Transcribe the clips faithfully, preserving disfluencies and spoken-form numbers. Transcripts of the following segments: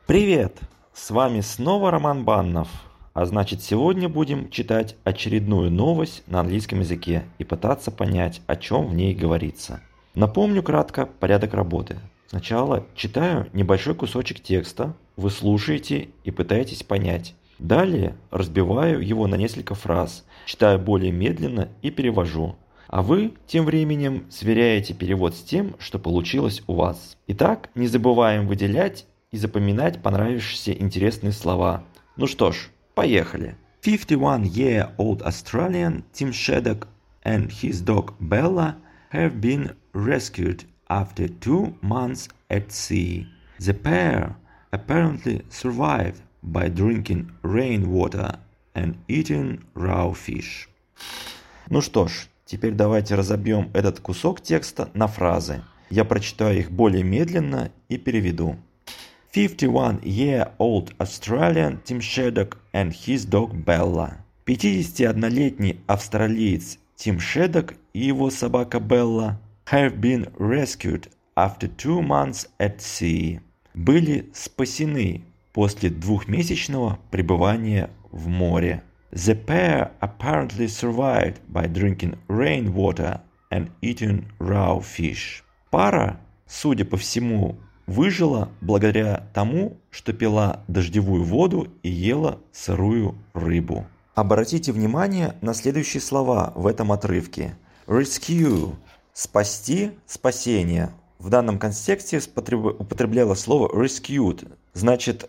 Привет! С вами снова Роман Баннов. А значит, сегодня будем читать очередную новость на английском языке и пытаться понять, о чем в ней говорится. Напомню кратко порядок работы. Сначала читаю небольшой кусочек текста, вы слушаете и пытаетесь понять. Далее разбиваю его на несколько фраз, читаю более медленно и перевожу. А вы тем временем сверяете перевод с тем, что получилось у вас. Итак, не забываем выделять и запоминать понравившиеся интересные слова. Ну что ж, поехали. fifty-one-year-old Australian Tim Shaddock and his dog Bella have been rescued after two months at sea. The pair apparently survived by drinking rainwater and eating raw fish. Ну что ж, теперь давайте разобьем этот кусок текста на фразы. Я прочитаю их более медленно и переведу. fifty-one-year-old Australian Tim Shaddock and his dog Bella. пятидесятиоднолетний австралиец Тим Шеддок и его собака Белла have been rescued after two months at sea. Были спасены после двухмесячного пребывания в море. The pair apparently survived by drinking rainwater and eating raw fish. Пара, судя по всему, выжила благодаря тому, что пила дождевую воду и ела сырую рыбу. Обратите внимание на следующие слова в этом отрывке. Rescue – спасти, спасение. В данном контексте употребляло слово rescued, значит,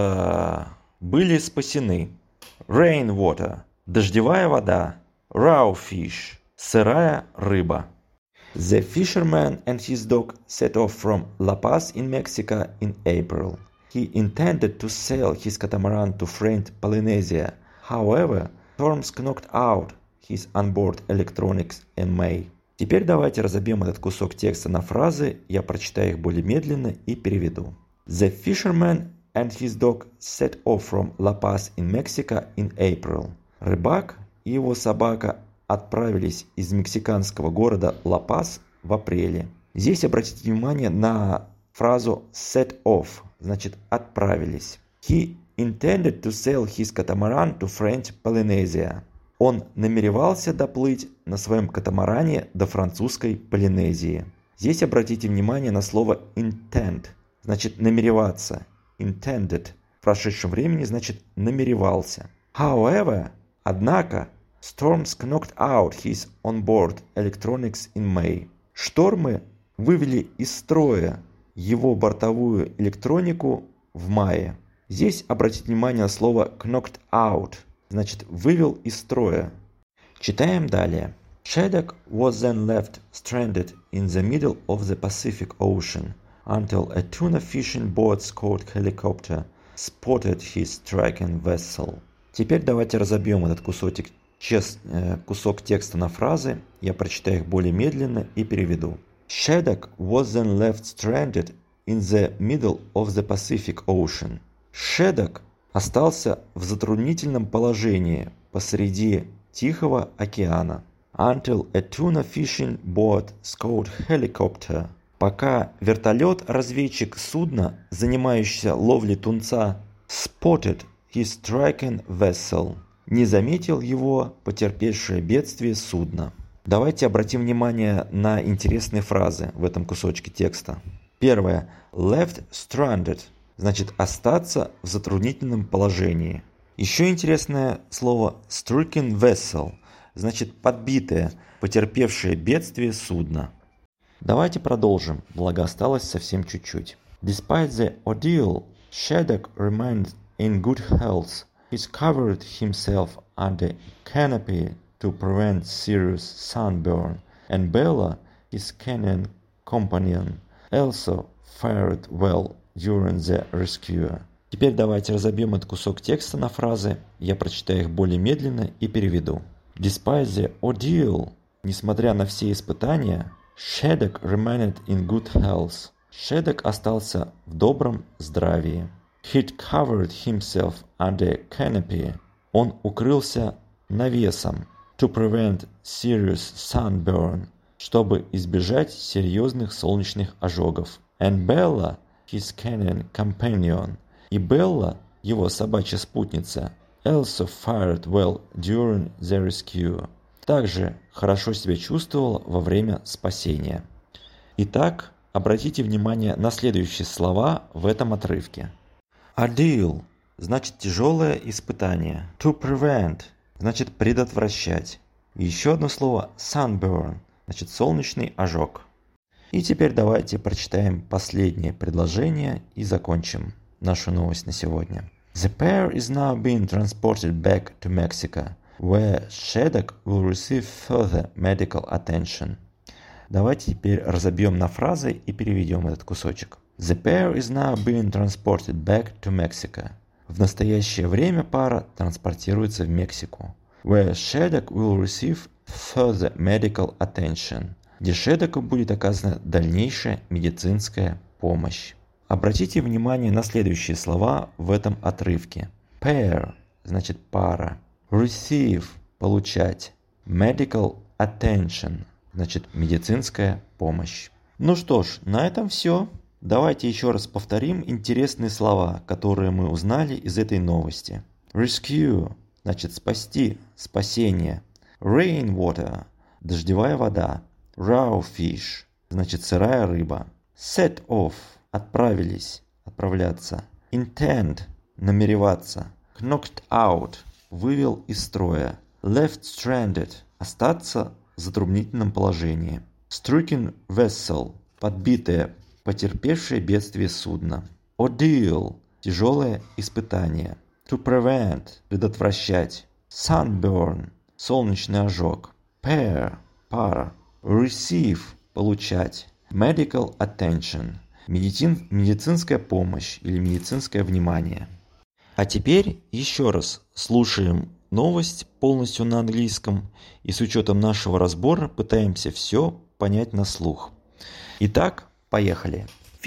э, были спасены. Rainwater – дождевая вода. Raw fish – сырая рыба. The fisherman and his dog set off from La Paz in Mexico in April. He intended to sail his catamaran to friend Polynesia. However, storms knocked out his onboard electronics in May. Теперь давайте разобьем этот кусок текста на фразы, я прочитаю их более медленно и переведу. The fisherman and his dog set off from La Paz in Mexico in April. Рыбак и его собака отправились из мексиканского города Ла-Пас в апреле. Здесь обратите внимание на фразу set off, значит отправились. He intended to sail his catamaran to French Polynesia. Он намеревался доплыть на своем катамаране до французской Полинезии. Здесь обратите внимание на слово intend, значит намереваться. Intended в прошедшем времени значит намеревался. However, однако, storms knocked out his onboard electronics in May. Штормы вывели из строя его бортовую электронику в мае. Здесь обратите внимание на слово knocked out, значит вывел из строя. Читаем далее. Shaddock was then left stranded in the middle of the Pacific Ocean until a tuna fishing boat called Helicopter spotted his striking vessel. Теперь давайте разобьем этот кусочек, чест, э, кусок текста на фразы. Я прочитаю их более медленно и переведу. Shaddock was then left stranded in the middle of the Pacific Ocean. Shaddock остался в затруднительном положении посреди Тихого океана. Until a tuna fishing boat called Helicopter. Пока вертолет-разведчик судна, занимающийся ловлей тунца, spotted his striking vessel, не заметил его потерпевшее бедствие судно. Давайте обратим внимание на интересные фразы в этом кусочке текста. Первое. Left stranded, значит остаться в затруднительном положении. Еще интересное слово stricken vessel, значит подбитое, потерпевшее бедствие судно. Давайте продолжим, благо осталось совсем чуть-чуть. Despite the ordeal, Shaddock remained in good health. He covered himself under canopy to prevent serious sunburn, and Bella, his canine companion, also fared well during the rescue. Теперь давайте разобьем этот кусок текста на фразы, я прочитаю их более медленно и переведу. Despite the ordeal, несмотря на все испытания, Shaddock remained in good health. Shaddock остался в добром здравии. He'd covered himself under canopy. Он укрылся навесом. To prevent serious sunburn. Чтобы избежать серьезных солнечных ожогов. And Bella, his canine companion. И Белла, его собачья спутница, also fared well during the rescue. Также хорошо себя чувствовала во время спасения. Итак, обратите внимание на следующие слова в этом отрывке. Ordeal значит тяжелое испытание. To prevent значит предотвращать. И еще одно слово sunburn значит солнечный ожог. И теперь давайте прочитаем последнее предложение и закончим нашу новость на сегодня. The pair is now being transported back to Mexico, where Sheddock will receive further medical attention. Давайте теперь разобьем на фразы и переведем этот кусочек. The pair is now being transported back to Mexico. В настоящее время пара транспортируется в Мексику. Where Sheddock will receive further medical attention. Где Шеддоку будет оказана дальнейшая медицинская помощь. Обратите внимание на следующие слова в этом отрывке. Pair значит пара. Receive получать. Medical attention значит медицинская помощь. Ну что ж, на этом все. Давайте еще раз повторим интересные слова, которые мы узнали из этой новости. Rescue значит спасти, спасение. Rainwater дождевая вода. Raw fish значит сырая рыба. Set off отправились, отправляться. Intend намереваться. Knocked out вывел из строя. Left stranded остаться в затруднительном положении. Stricken vessel подбитое, потерпевшее бедствие судно. Ordeal тяжелое испытание. To prevent предотвращать. Sunburn солнечный ожог. Pair пара. Receive получать. Medical attention медицин, медицинская помощь или медицинское внимание. А теперь еще раз слушаем новость полностью на английском и с учетом нашего разбора пытаемся все понять на слух. Итак, поехали.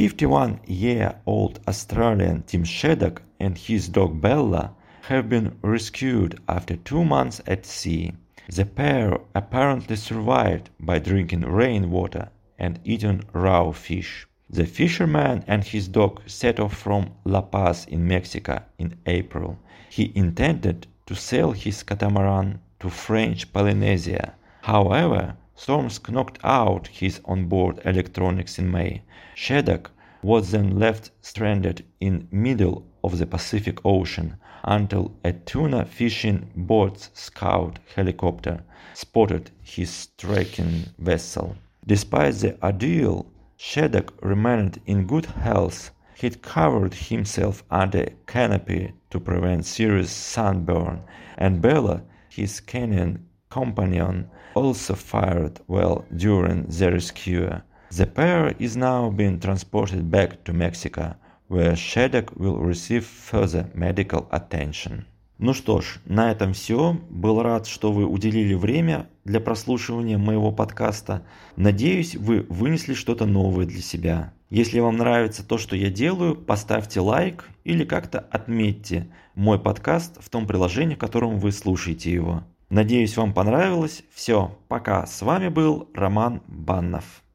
fifty-one-year-old Australian Tim Sheddock and his dog Bella have been rescued after two months at sea. The pair apparently survived by drinking rainwater and eating raw fish. The fisherman and his dog set off from La Paz in Mexico in April. He intended to sail his catamaran to French Polynesia. However, storms knocked out his onboard electronics in May. Sheddock was then left stranded in middle of the Pacific Ocean until a tuna fishing boat's scout helicopter spotted his stricken vessel. Despite the ordeal, Sheddock remained in good health. He'd covered himself under a canopy to prevent serious sunburn, and Bella, his canine companion, also fared well during the rescue. The pair is now being transported back to Mexico, where Sheddock will receive further medical attention. Ну что ж, на этом все. Был рад, что вы уделили время для прослушивания моего подкаста. Надеюсь, вы вынесли что-то новое для себя. Если вам нравится то, что я делаю, поставьте лайк или как-то отметьте мой подкаст в том приложении, в котором вы слушаете его. Надеюсь, вам понравилось. Все, пока. С вами был Роман Баннов.